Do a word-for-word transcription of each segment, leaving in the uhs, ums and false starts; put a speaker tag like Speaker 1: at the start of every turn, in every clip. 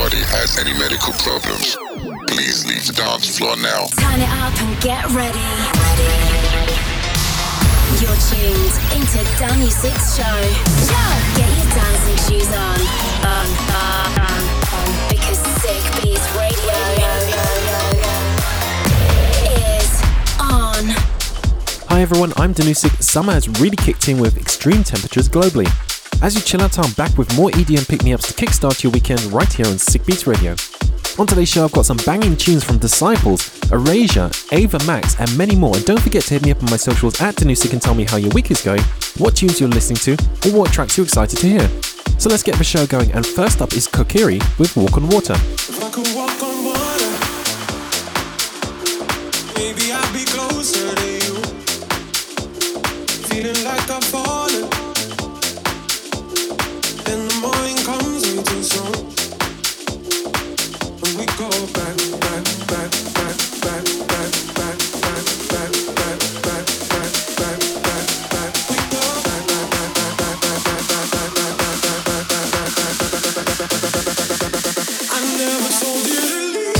Speaker 1: anybody has any medical problems, please leave the dance floor now.
Speaker 2: Turn it up and get ready. ready. You're tuned into Dan Music's show. Get your dancing shoes on. On, on, on, on. Because Sick Beats Radio is on.
Speaker 3: Hi everyone, I'm Danusik. Summer has really kicked in with extreme temperatures globally. As you chill out, I'm back with more E D M pick-me-ups to kickstart your weekend right here on Sick Beats Radio. On today's show, I've got some banging tunes from Disciples, Erasure, Ava Max, and many more. And don't forget to hit me up on my socials at Danusik and tell me how your week is going, what tunes you're listening to, or what tracks you're excited to hear. So let's get the show going, and first up is Kokiri with Walk on Water.
Speaker 4: If I could walk on water, maybe I'd be closer to you. Feeling like I'm falling, then the morning comes in too soon. And we go back, back, back, back, back, back, back, back, back, back, back, back, back, back, back. We go back, back, back, back, back, back, back, back, back, back, back, back, back, back, back. I never told you to leave.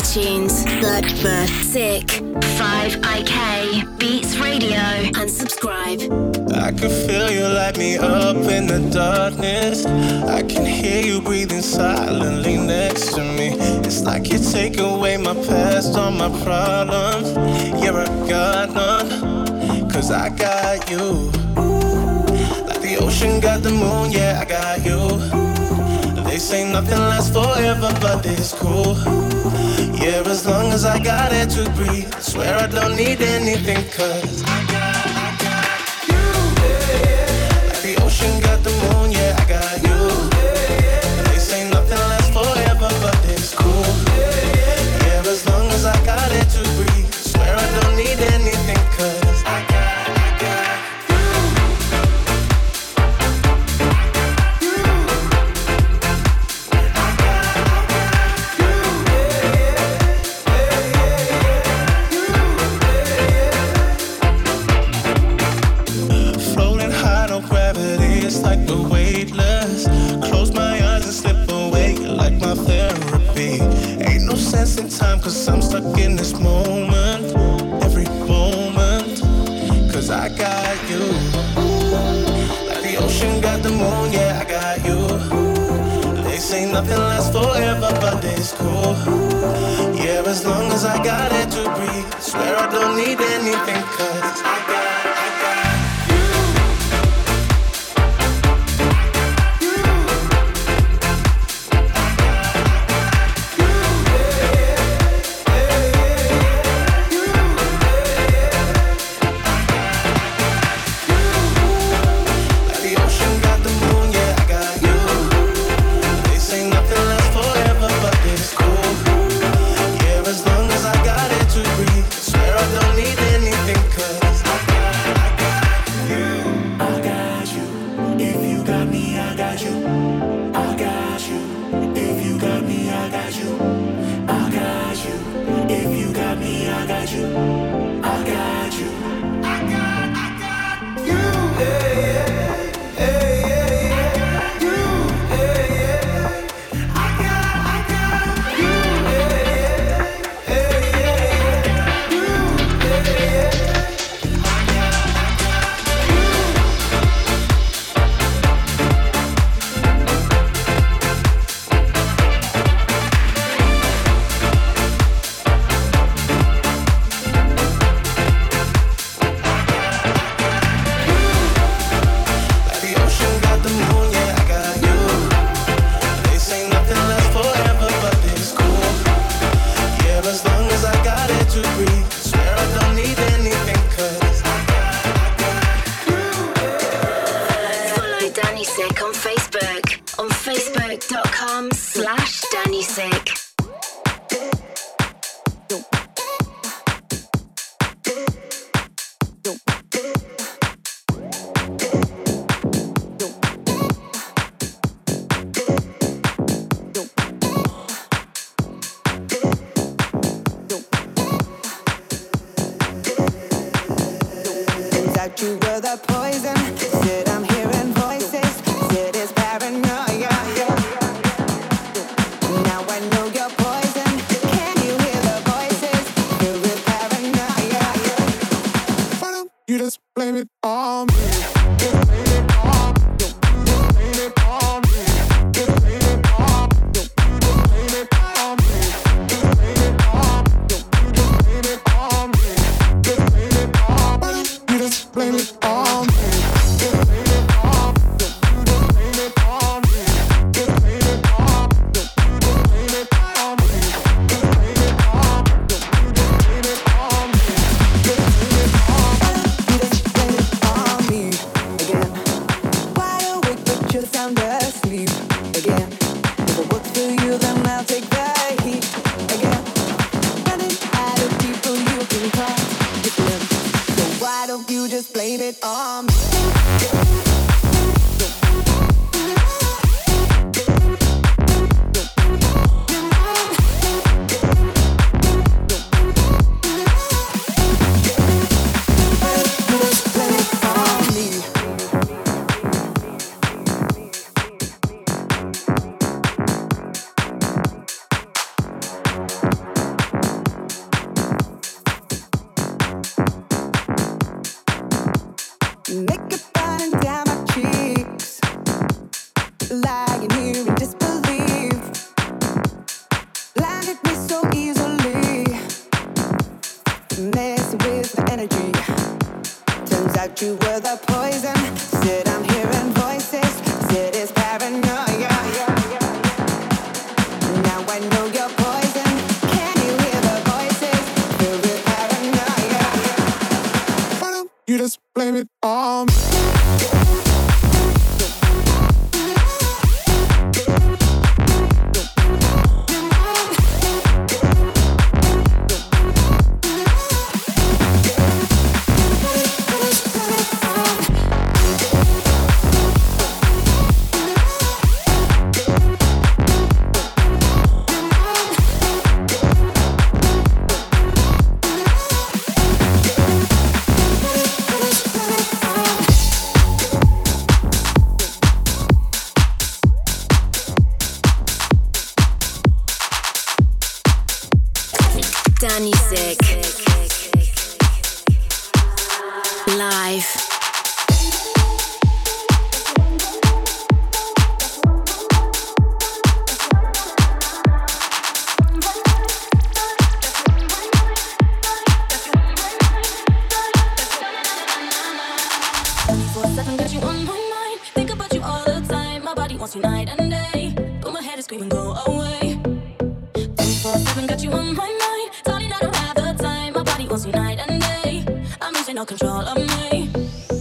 Speaker 2: iTunes. Look for Sick five I K Beats Radio and subscribe.
Speaker 5: I can feel you light me up in the darkness. I can hear you breathing silently next to me. It's like you take away my past, all my problems. Yeah, I got none, cause I got you. Like the ocean got the moon, yeah, I got you. They say nothing lasts forever, but it's cool. Yeah, as long as I got it to breathe, I swear I don't need anything, cause I got, I got you. Like the ocean got the moon, yeah, I got you. They say nothing lasts forever, but it's cool. Yeah, as long as I got it to breathe, I swear I don't need anything, cause I got, I got like the weightless. Close my eyes and slip away like my therapy. Ain't no sense in time, cause I'm stuck in this moment. Every moment, cause I got you. Like the ocean got the moon, yeah, I got you. They say nothing lasts forever, but it's cool. Yeah, as long as I got it to breathe, I swear I don't need anything, cause I got
Speaker 6: lying here in disbelief. Blinded me so easily, messing with my energy. Turns out you were the poison. Said I'm hearing voices. Said it's paranoia. Now I know you're poison. Can you hear the voices? Filled with paranoia. Why don't you just blame it on me?
Speaker 2: Danny Sick live.
Speaker 7: twenty-four seven got you on my mind. Think about you all the time. My body wants you night and day, but my head is screaming go away. twenty-four seven got you on my mind. Darling, I don't have the time. My body wants you night and day. I'm losing all control of me.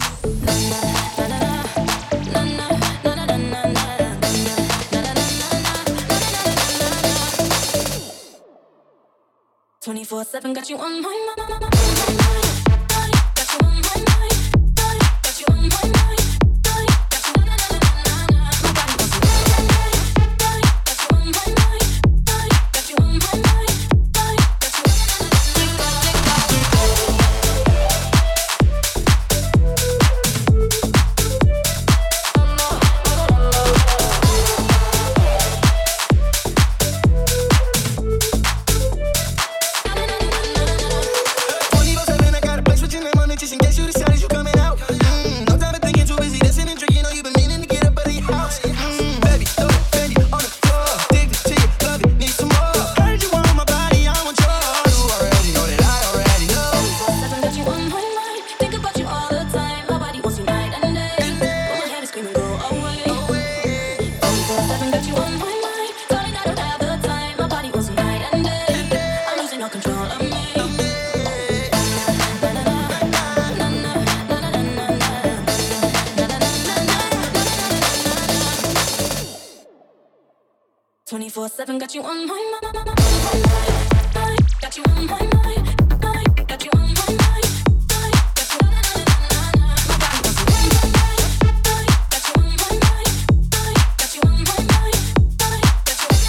Speaker 7: twenty-four seven got you on my mind. Got you on my mind. Got you on my mind. Got you na na na na na. My body wants you night and day. Got you on my mind. Got you on my mind. Got you na na na na na. twenty-four seven got you on my mind. Got you on my mind. Got you on my mind. Got you na na na na na. My body wants you night and day. Got you on my mind. Got you on my mind. Got you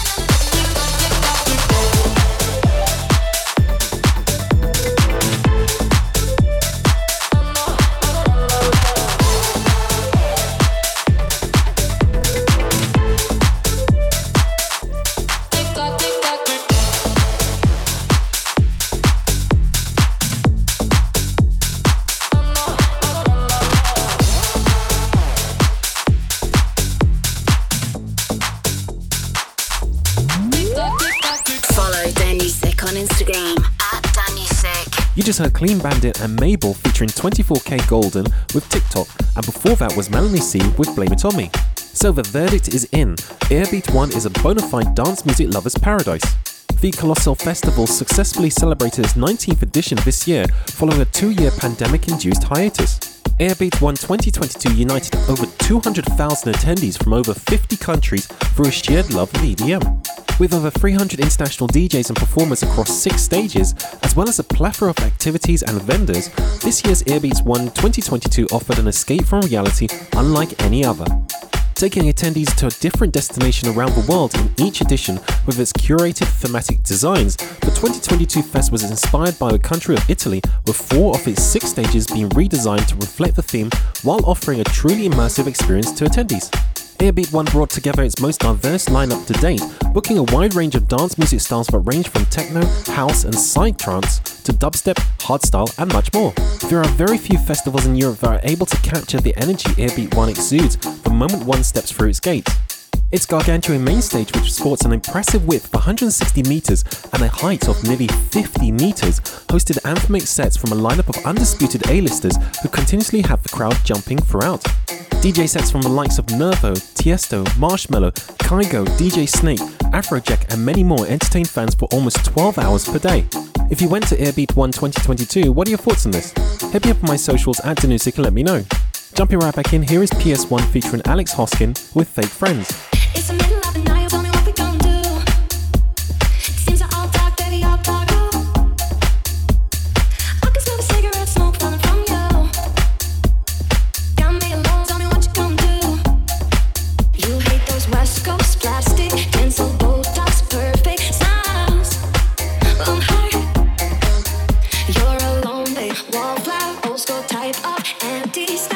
Speaker 3: You just heard Clean Bandit and Mabel featuring twenty-four K Golden with TikTok, and before that was Melanie C with Blame It On Me. So the verdict is in. Airbeat one is a bona fide dance music lover's paradise. The Colossal Festival successfully celebrated its nineteenth edition this year following a two-year pandemic-induced hiatus. Airbeat one twenty twenty-two united over two hundred thousand attendees from over fifty countries through a shared love of E D M. With over three hundred international D Js and performers across six stages, as well as a plethora of activities and vendors, this year's Airbeat one twenty twenty-two offered an escape from reality unlike any other. Taking attendees to a different destination around the world in each edition with its curated thematic designs, the twenty twenty-two fest was inspired by the country of Italy, with four of its six stages being redesigned to reflect the theme while offering a truly immersive experience to attendees. Airbeat one brought together its most diverse lineup to date, booking a wide range of dance music styles that range from techno, house and psytrance to dubstep, hardstyle and much more. There are very few festivals in Europe that are able to capture the energy Airbeat one exudes the moment one steps through its gates. Its gargantuan main stage, which sports an impressive width of one hundred sixty meters and a height of nearly fifty meters, hosted anthemic sets from a lineup of undisputed A-listers who continuously have the crowd jumping throughout. D J sets from the likes of Nervo, Tiesto, Marshmello, Kygo, D J Snake, Afrojack and many more entertained fans for almost twelve hours per day. If you went to Airbeat One twenty twenty-two, what are your thoughts on this? Hit me up on my socials at Danusik and let me know. Jumping right back in, here is P S one featuring Alex Hoskin with Fake Friends.
Speaker 7: It's the middle of the night, tell me what we gon' do. Seems like all dark, baby, all dark. I can smell the cigarette smoke coming from you. Got me alone, tell me what you gon' do. You hate those West Coast plastic, tinsel, Botox, perfect smiles. I'm high. You're a lonely wallflower, old school type of anti-style.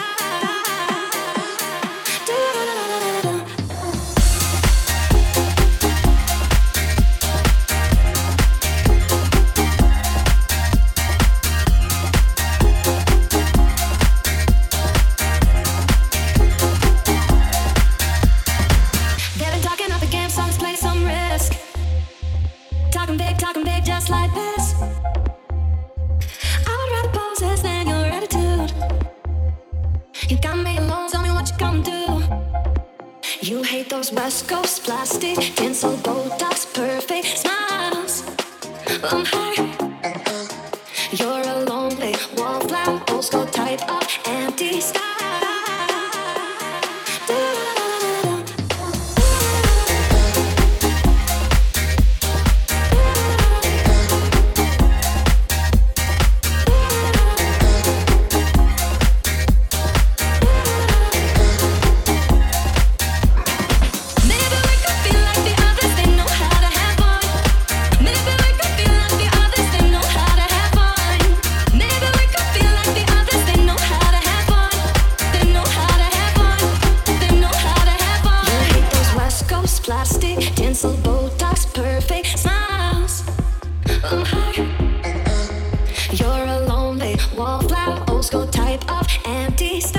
Speaker 7: Talking big just like this. I would rather pose than your attitude. You got me alone, tell me what you gon' do. You hate those West Coast plastic, tinsel, Botox, perfect smiles. I'm high. You're a lonely wallflower, old school type of anti-style. Plastic, tinsel, Botox, perfect smiles. I'm high. You're a lonely wallflower, old school type of anti-style.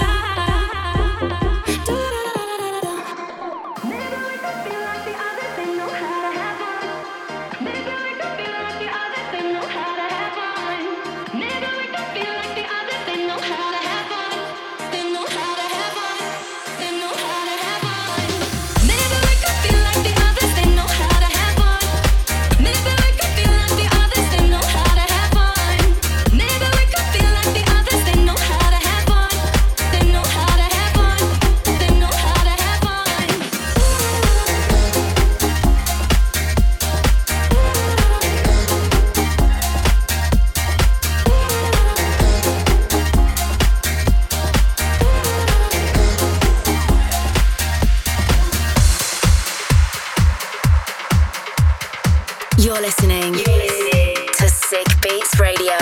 Speaker 7: Maybe we could be like the others, they know how to have fun. Maybe we could be like the others, they know how to have fun. Maybe we could be like the others, they know how to have fun. They know how to have fun. They know how to have fun. Maybe we could be like the others, they know how to have fun. Maybe we could be like the others, they know how to have fun. Maybe we could be like the others, they know how to have fun. They know how to have fun. They know how to have fun.
Speaker 2: You're listening to Sick Beats Radio.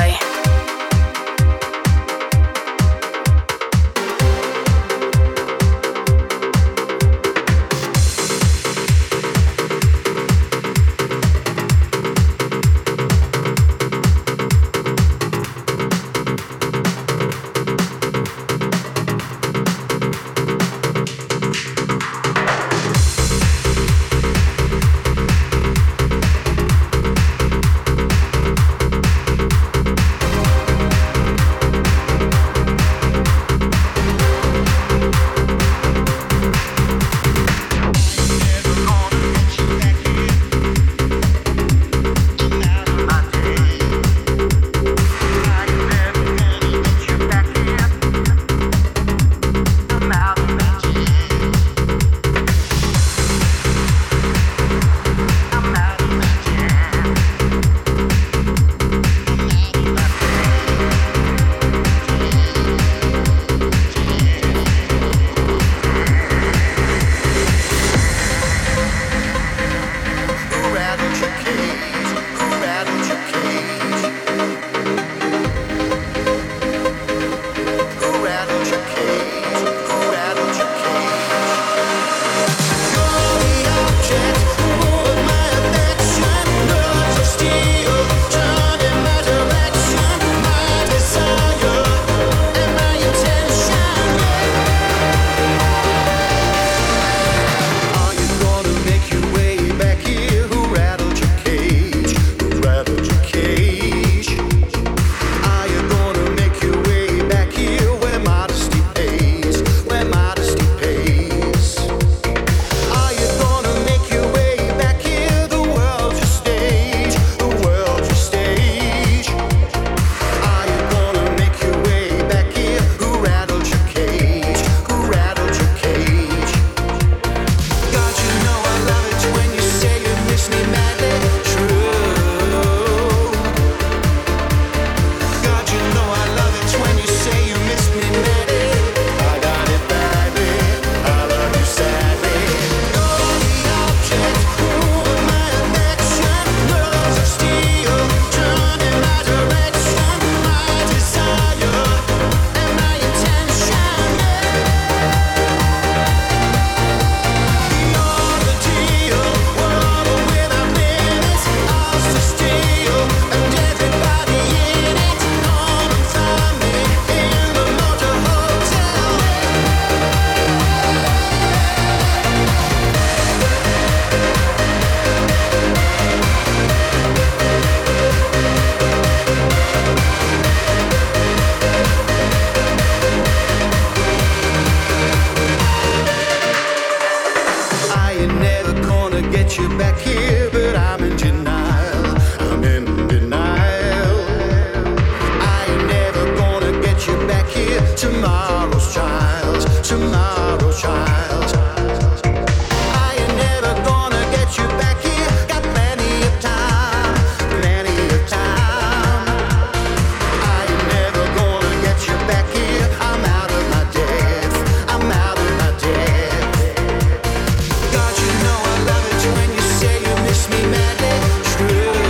Speaker 8: ain't never gonna get you back here, but I'm in denial. I'm in denial. I ain't never gonna get you back here. Tomorrow's trials, tomorrow's trials. I ain't never gonna get you back here. Got plenty of time, plenty of time. I ain't never gonna get you back here. I'm out of my depth, I'm out of my depth. God, you know I love it when you say you miss me madly. True.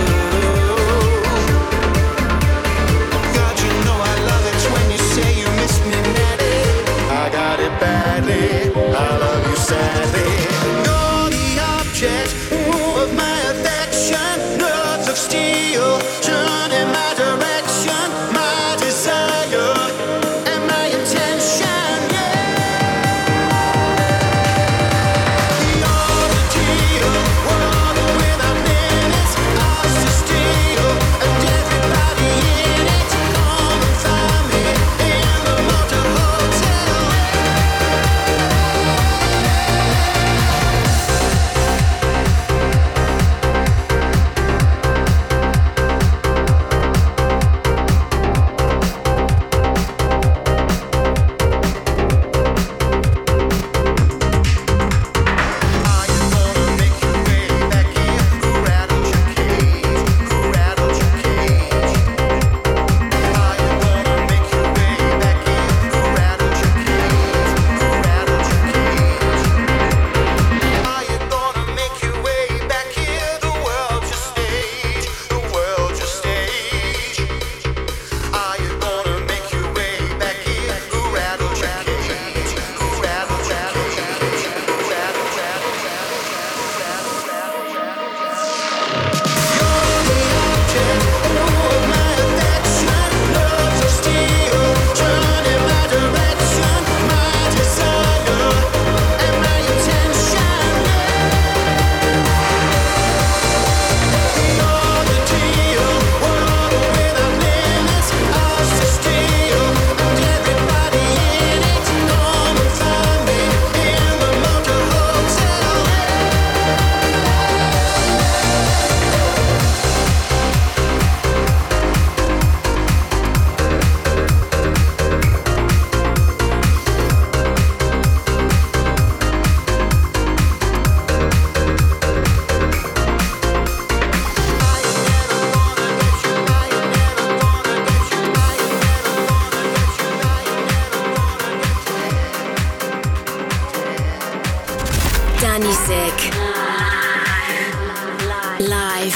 Speaker 8: God, you know I love it when you say you miss me madly. I got it badly, I love you sadly. You're the object of my affection. Nerves of steel turn in my direction. My desire and my intention, yeah. You're the deal, world without limits. Ours to steal, and everybody in it. Come and find me in the motor hotel. Are you gonna make your way back here? Who rattled your cage? Who rattled your cage? Are you gonna make your way back here? Who rattled your cage? Who rattled your cage? Are you gonna make your way back here? The world's your stage, the world's your stage. Are you gonna make your way back here? Who rattled your cage? Who rattled your cage? Who rattled, rattled, You're the object of my affection. Nerves of steel turn in my direction. My desire and my intention, You're the deal, world without limits. Ours to steal, and everybody in it. Come and find me in the motor hotel.
Speaker 2: Danny Sick. Live.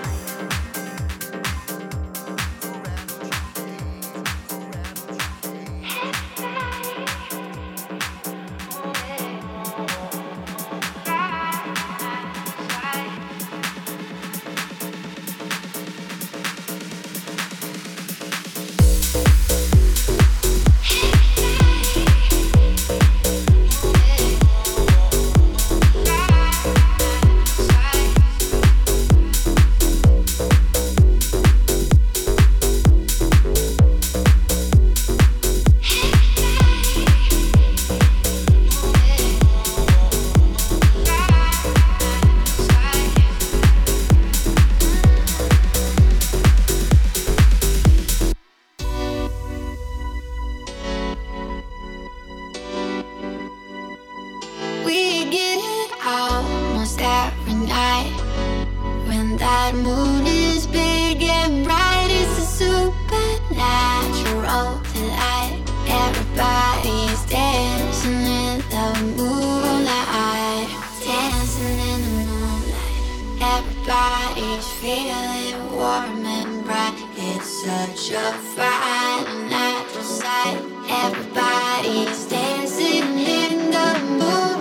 Speaker 9: We get it almost every night. When that moon is big and bright, it's a supernatural delight. Everybody's dancing in the moonlight. Dancing in the moonlight. Everybody's feeling warm and bright. It's such a fine natural sight. Everybody's dancing in the moonlight.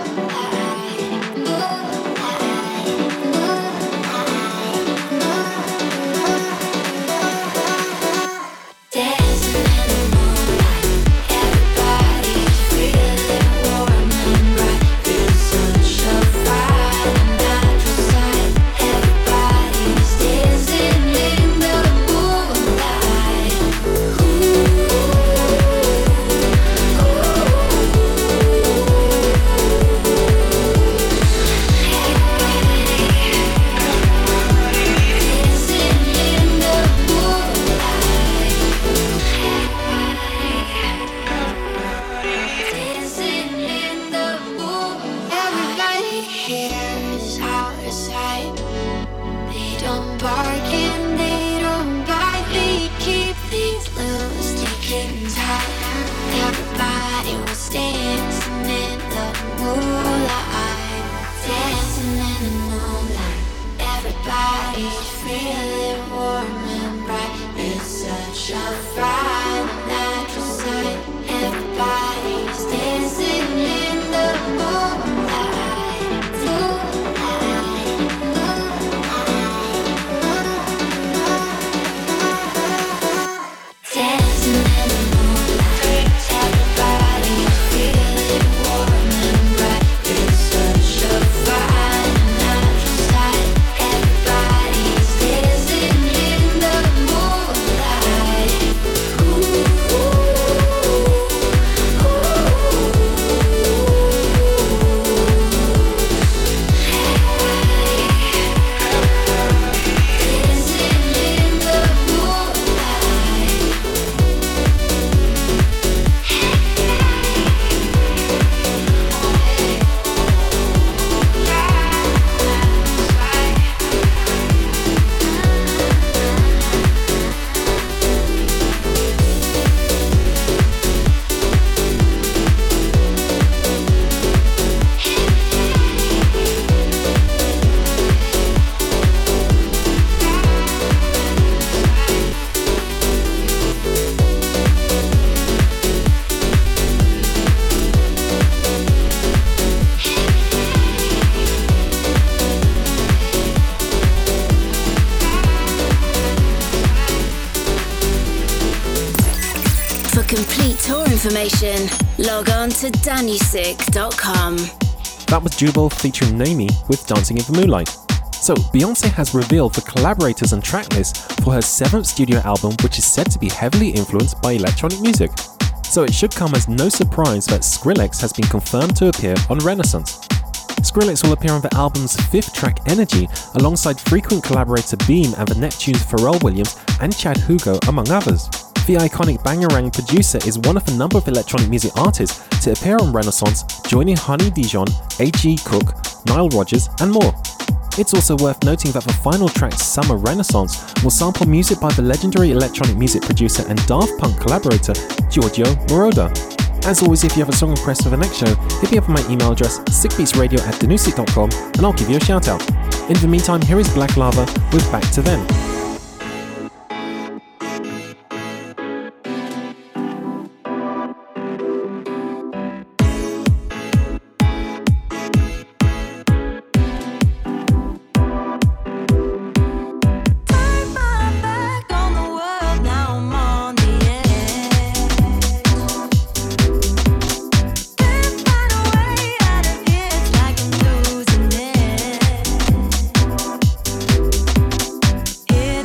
Speaker 9: Moonlight, moonlight, moonlight. Dancing in the moonlight. Everybody's feeling warm and bright. It's such a fine natural sight. Everybody's dancing in the moonlight. Ooh, ooh. spark and they don't bite. We keep these little sticking tight. Everybody was dancing in the moonlight, dancing in the moonlight. Everybody's feeling warm and bright. It's such a fine natural sight. Everybody's dancing in the moonlight, moonlight, moonlight. Dancing in the moonlight. Everybody's feeling warm and bright. It's such a fine natural sight. Everybody's dancing in the moonlight. Ooh, ooh,
Speaker 2: For complete tour information, log on to danusik dot com.
Speaker 3: That was Jubal featuring Naomi with Dancing in the Moonlight. So, Beyoncé has revealed the collaborators and tracklist for her seventh studio album, which is said to be heavily influenced by electronic music. So it should come as no surprise that Skrillex has been confirmed to appear on Renaissance. Skrillex will appear on the album's fifth track, Energy, alongside frequent collaborator Beam and the Neptunes Pharrell Williams and Chad Hugo, among others. The iconic Bangarang producer is one of a number of electronic music artists to appear on Renaissance, joining Honey Dijon, A G Cook, Nile Rodgers, and more. It's also worth noting that the final track, Summer Renaissance, will sample music by the legendary electronic music producer and Daft Punk collaborator Giorgio Moroder. As always, if you have a song request for the next show, hit me up on my email address sickbeatsradio at danusik dot com and I'll give you a shout out. In the meantime, here is Black Lava with Back to Then.
Speaker 7: It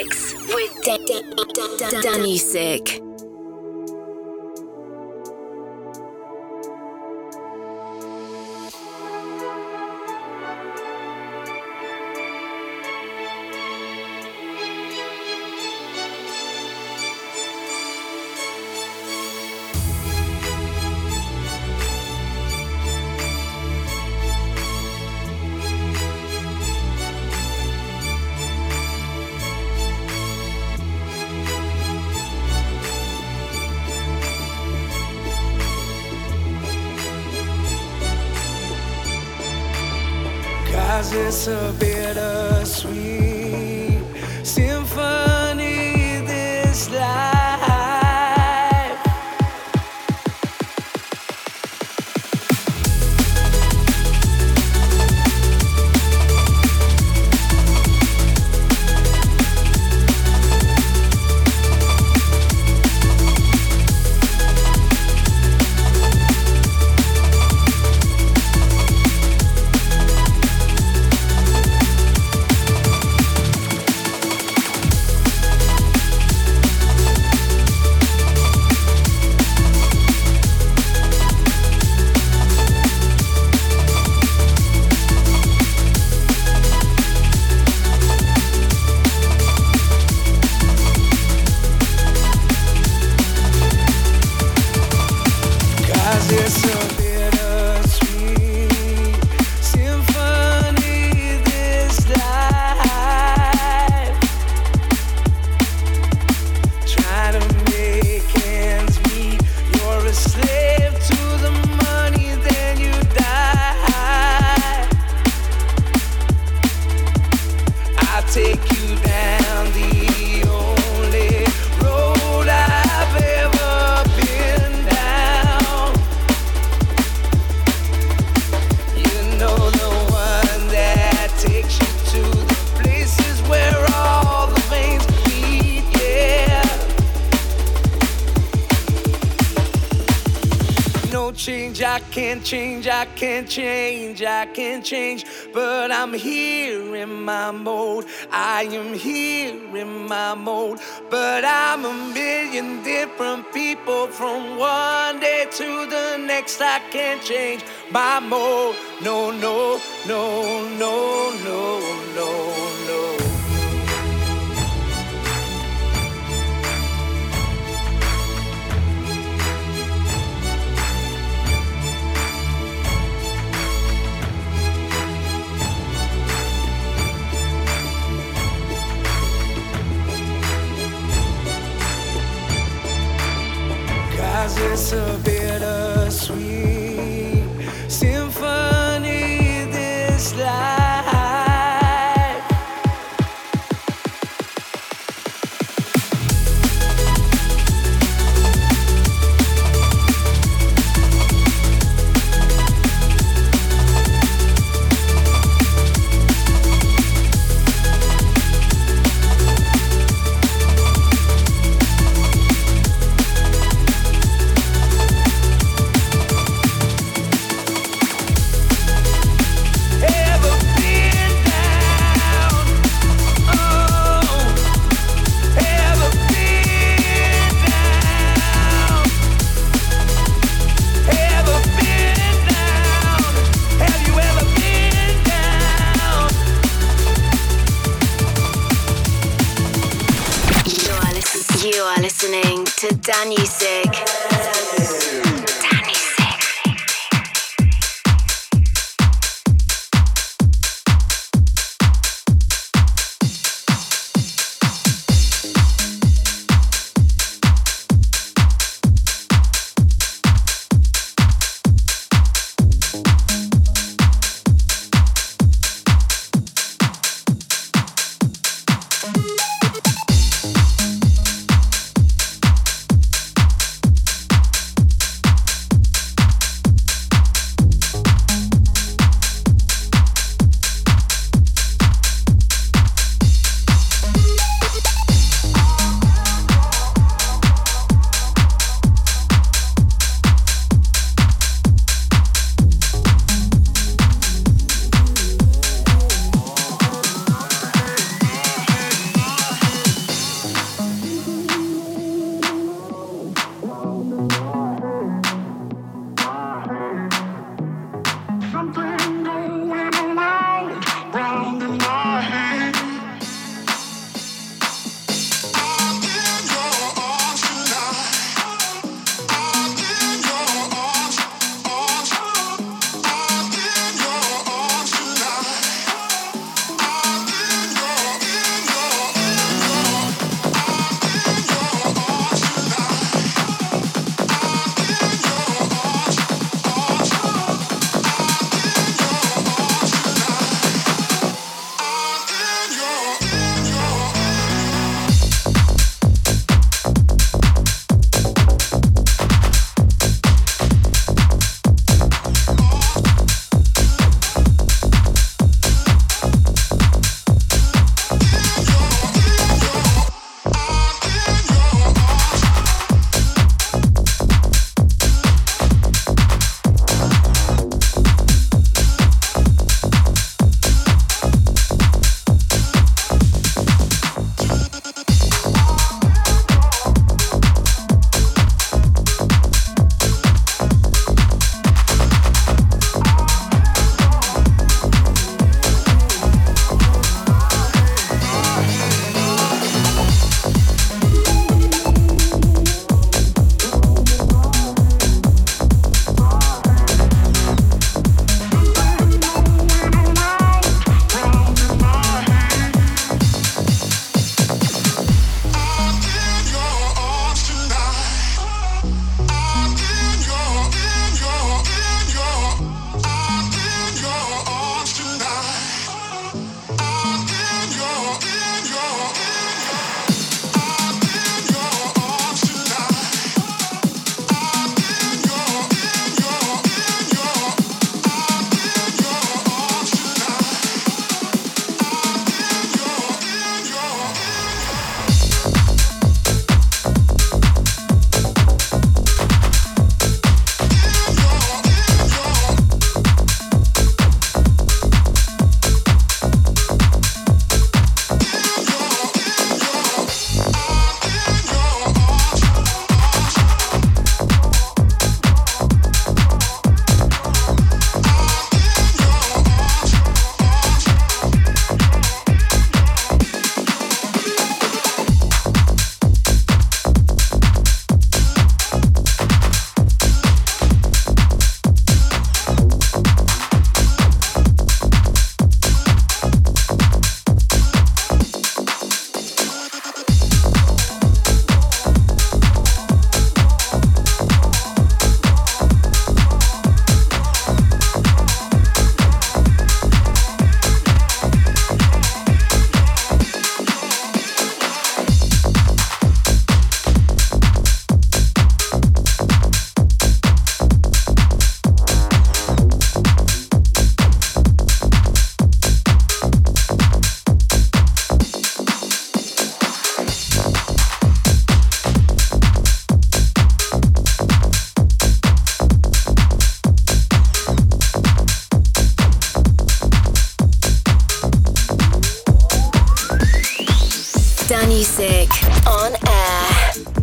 Speaker 2: Six with Danusik.
Speaker 10: It's a bittersweet symphony, this life. I can't change, I can't change, I can't change, but I'm here in my mode. I am here in my mode, but I'm a million different people from one day to the next. I can't change my mode. No, no, no, no, no, no, no. It's a bittersweet symphony, this life.
Speaker 2: Listening to Danusik.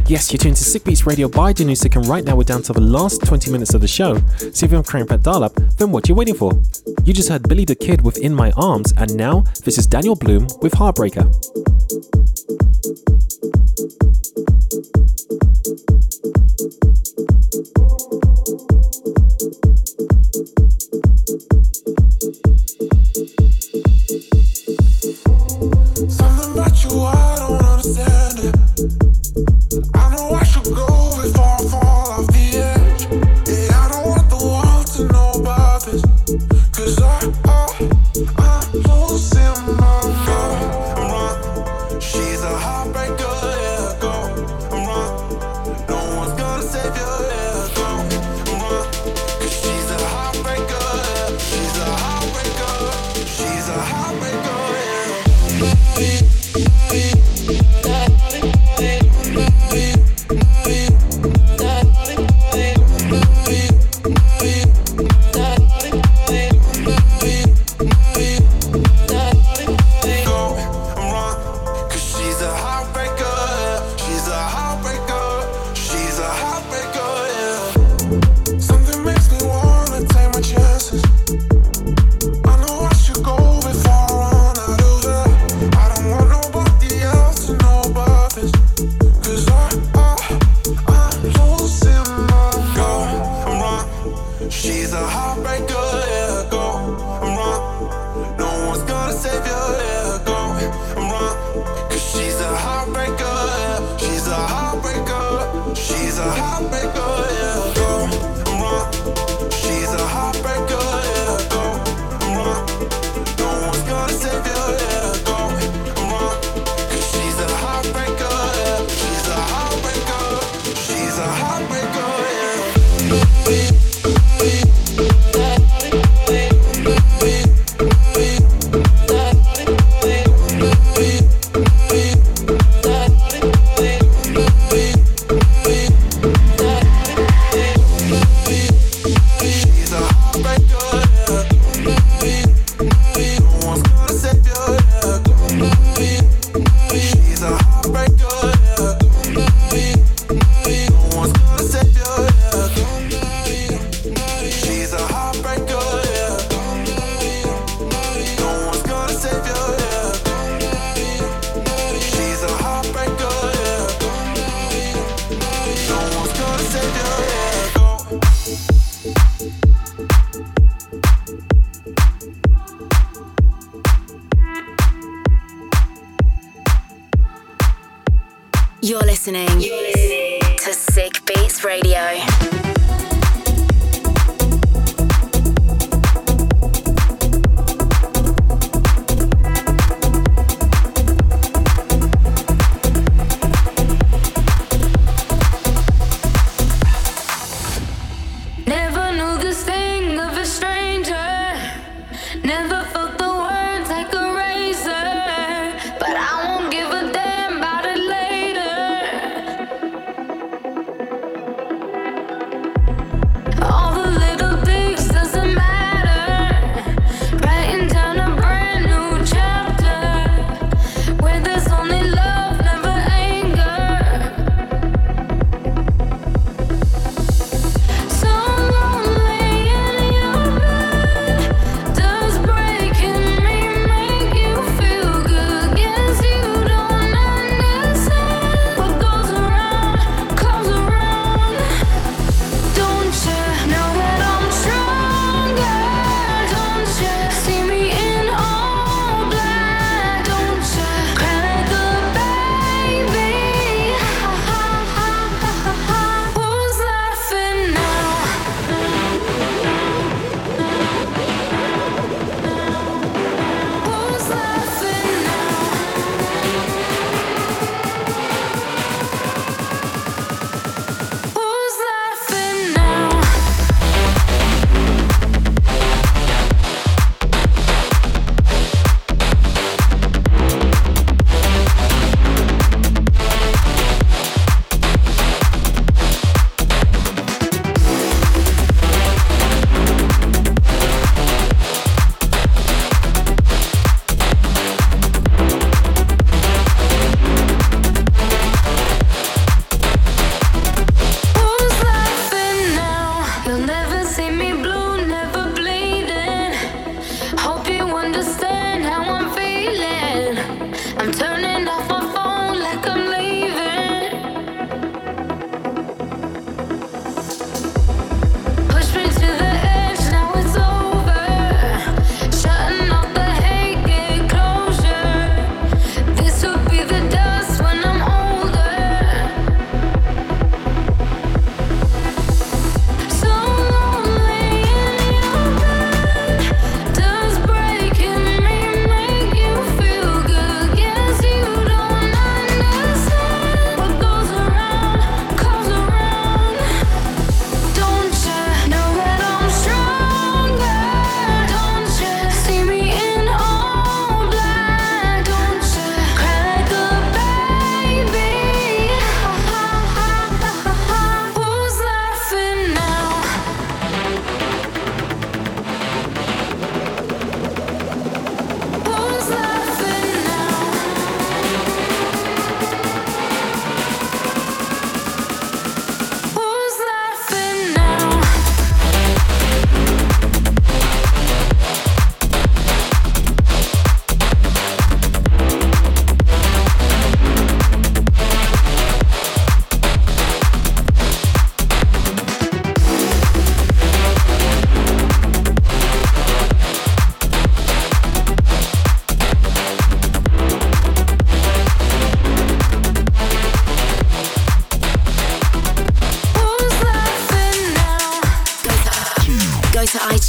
Speaker 3: Yes, you're tuned to Sick Beats Radio by Danusik, and right now we're down to the last twenty minutes of the show. So if you haven't cranked that dial up, then what you waiting for? You just heard Billy the Kid with In My Arms, and now this is Daniel Bloom with Heartbreaker.
Speaker 4: Something about you, I don't understand it. I know I should go before I fall off the edge. Yeah, I don't want the world to know about this. Cause I, I, I'm losing my mind. I'm wrong. She's a heartbreaker, yeah, go. I'm wrong. No one's gonna save you, yeah, go. I'm wrong. Cause she's a heartbreaker, yeah. She's a heartbreaker. She's a heartbreaker, yeah.
Speaker 2: You're listening to Sick Beats Radio.
Speaker 7: Never knew this thing of a stranger. Never felt the words like a razor. But I won't give a damn about it later.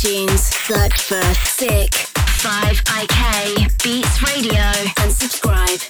Speaker 2: iTunes. Search for Sick five I K Beats Radio and subscribe.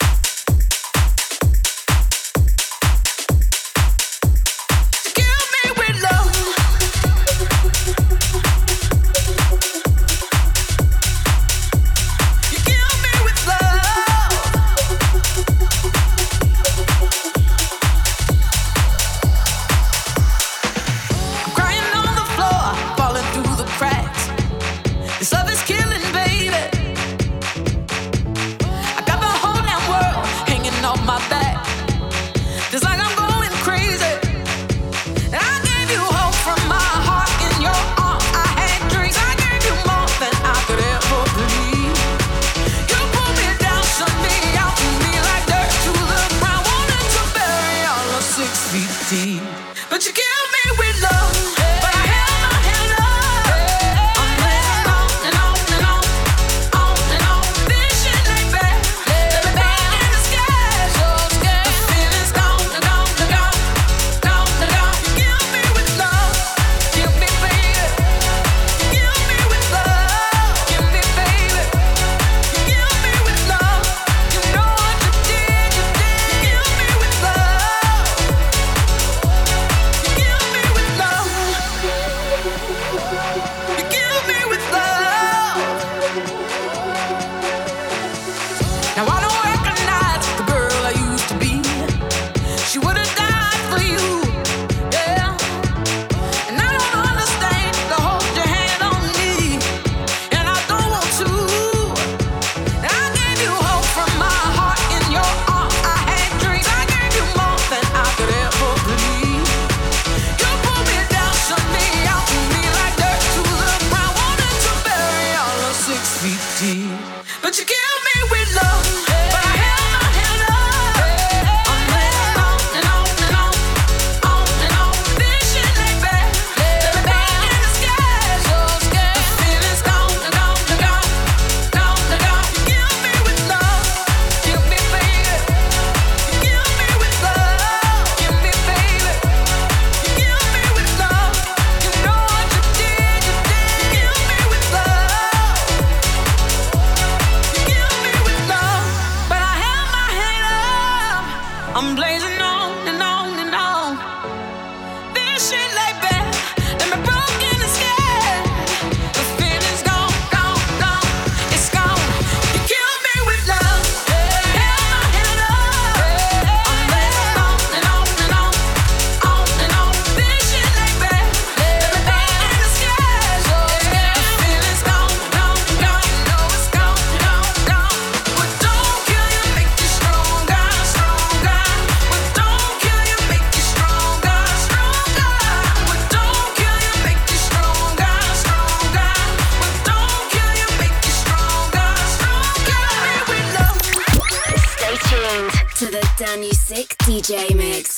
Speaker 2: Danusik D J Mix.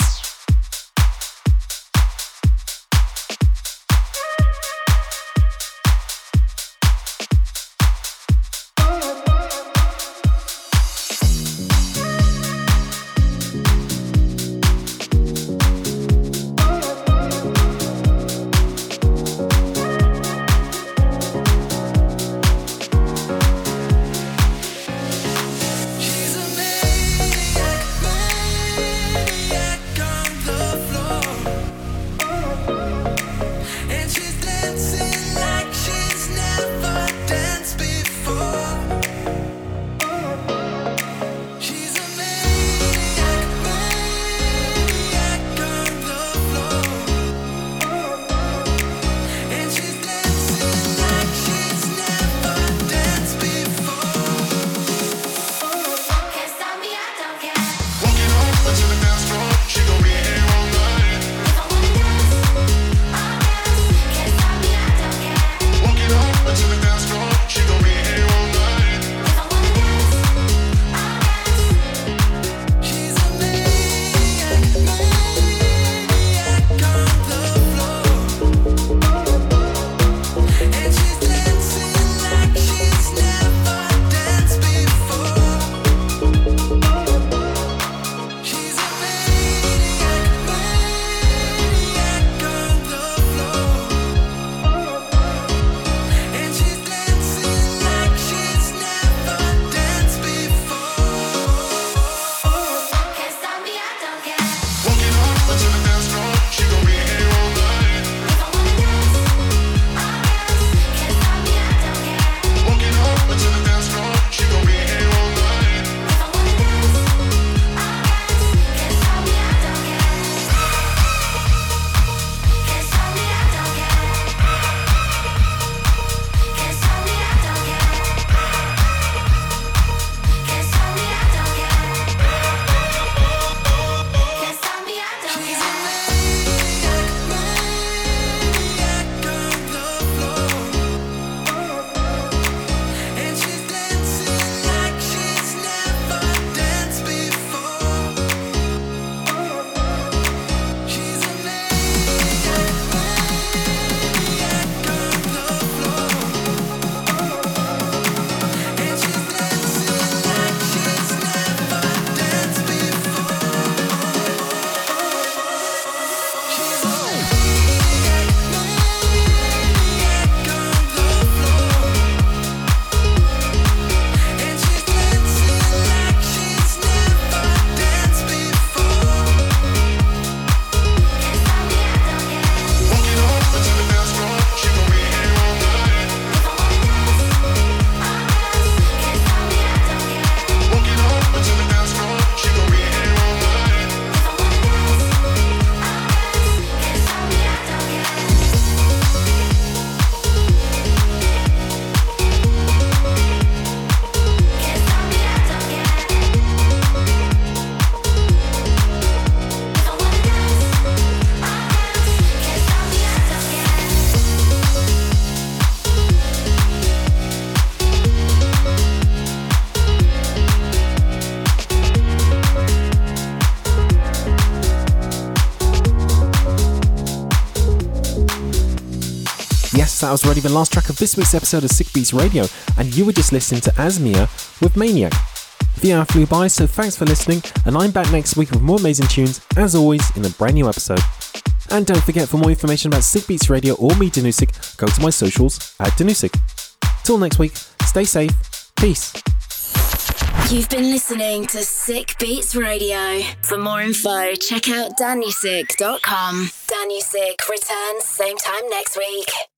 Speaker 10: She's a maniac, maniac.
Speaker 3: That was already the last track of this week's episode of Sick Beats Radio, and you were just listening to Asmia with Maniac. The hour flew by, so thanks for listening, and I'm back next week with more amazing tunes, as always, in a brand new episode. And don't forget, for more information about Sick Beats Radio or me, Danusik, go to my socials at Danusik. Till next week, stay safe, peace.
Speaker 2: You've been listening to Sick Beats Radio. For more info, check out danusik dot com. Danusik returns same time next week.